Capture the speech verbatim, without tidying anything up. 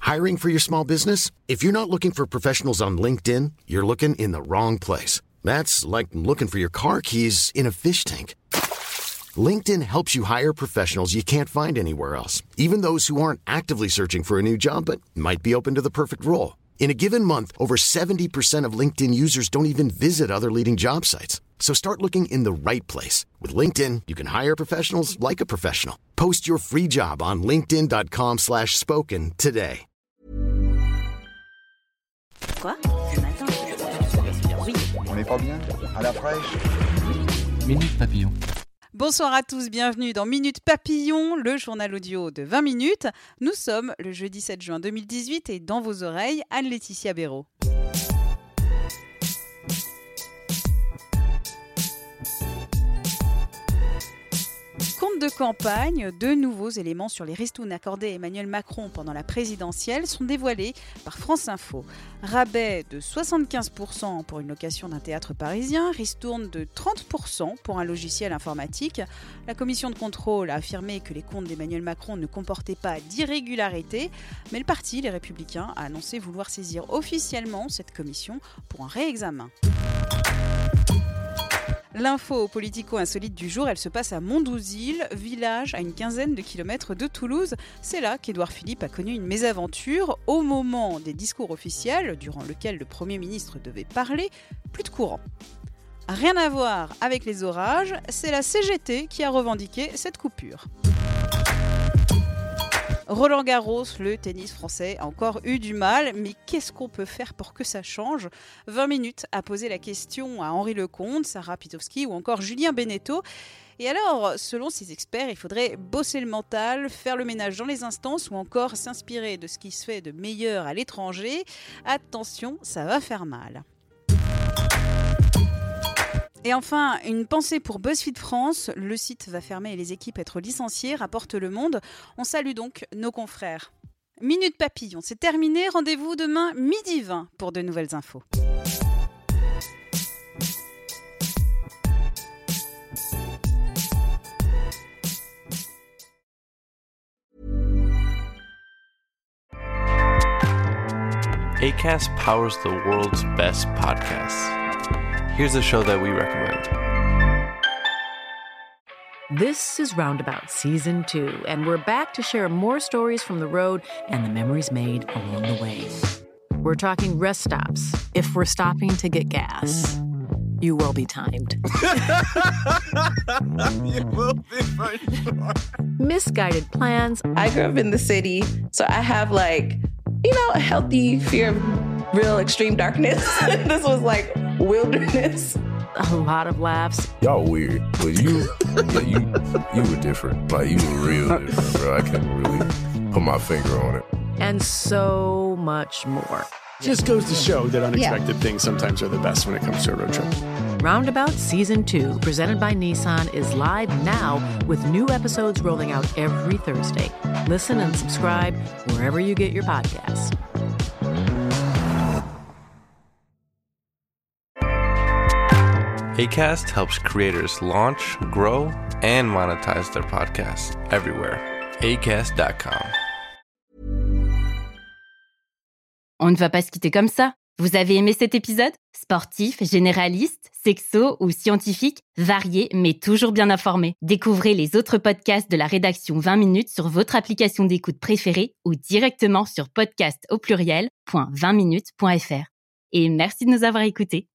Hiring for your small business? If you're not looking for professionals on LinkedIn, you're looking in the wrong place. That's like looking for your car keys in a fish tank. LinkedIn helps you hire professionals you can't find anywhere else, even those who aren't actively searching for a new job but might be open to the perfect role. In a given month, over seventy percent of LinkedIn users don't even visit other leading job sites. So start looking in the right place. With LinkedIn, you can hire professionals like a professional. Post your free job on linkedin.com slash spoken today. Quoi? Ce matin? Oui. On n'est pas bien? À la fraîche? Minute Papillon. Bonsoir à tous, bienvenue dans Minute Papillon, le journal audio de vingt minutes. Nous sommes le jeudi sept juin deux mille dix-huit et dans vos oreilles, Anne-Laetitia Béraud. Compte de campagne, deux nouveaux éléments sur les ristournes accordés à Emmanuel Macron pendant la présidentielle sont dévoilés par France Info. Rabais de soixante-quinze pour cent pour une location d'un théâtre parisien, ristourne de trente pour cent pour un logiciel informatique. La commission de contrôle a affirmé que les comptes d'Emmanuel Macron ne comportaient pas d'irrégularité, mais le parti, les Républicains, a annoncé vouloir saisir officiellement cette commission pour un réexamen. L'info politico-insolite du jour, elle se passe à Mondouzil, village à une quinzaine de kilomètres de Toulouse. C'est là qu'Édouard Philippe a connu une mésaventure. Au moment des discours officiels, durant lequel le Premier ministre devait parler, plus de courant. Rien à voir avec les orages, c'est la C G T qui a revendiqué cette coupure. Roland Garros, le tennis français, a encore eu du mal, mais qu'est-ce qu'on peut faire pour que ça change ? vingt minutes à poser la question à Henri Lecomte, Sarah Pitowski ou encore Julien Beneteau. Et alors, selon ces experts, il faudrait bosser le mental, faire le ménage dans les instances ou encore s'inspirer de ce qui se fait de meilleur à l'étranger. Attention, ça va faire mal. Et enfin, une pensée pour BuzzFeed France. Le site va fermer et les équipes être licenciées, rapporte Le Monde. On salue donc nos confrères. Minute Papillon, c'est terminé. Rendez-vous demain midi vingt pour de nouvelles infos. Acast powers the world's best podcasts. Here's a show that we recommend. This is Roundabout Season two, and we're back to share more stories from the road and the memories made along the way. We're talking rest stops, if we're stopping to get gas. You will be timed. You will be for sure. Misguided plans. I grew up in the city, so I have like, you know, a healthy fear of real extreme darkness. This was like wilderness. A lot of laughs. Y'all weird, but you, yeah, you, you were different. Like you were real different, bro. I can't really put my finger on it. And so much more. Just goes to show that unexpected yeah. things sometimes are the best when it comes to a road trip. Roundabout Season two, presented by Nissan, is live now with new episodes rolling out every Thursday. Listen and subscribe wherever you get your podcasts. Acast helps creators launch, grow, and monetize their podcasts everywhere. Acast dot com. On ne va pas se quitter comme ça. Vous avez aimé cet épisode ? Sportif, généraliste, sexo ou scientifique, varié mais toujours bien informé. Découvrez les autres podcasts de la rédaction vingt minutes sur votre application d'écoute préférée ou directement sur podcast au pluriel point vingt minutes point f r. Et merci de nous avoir écoutés.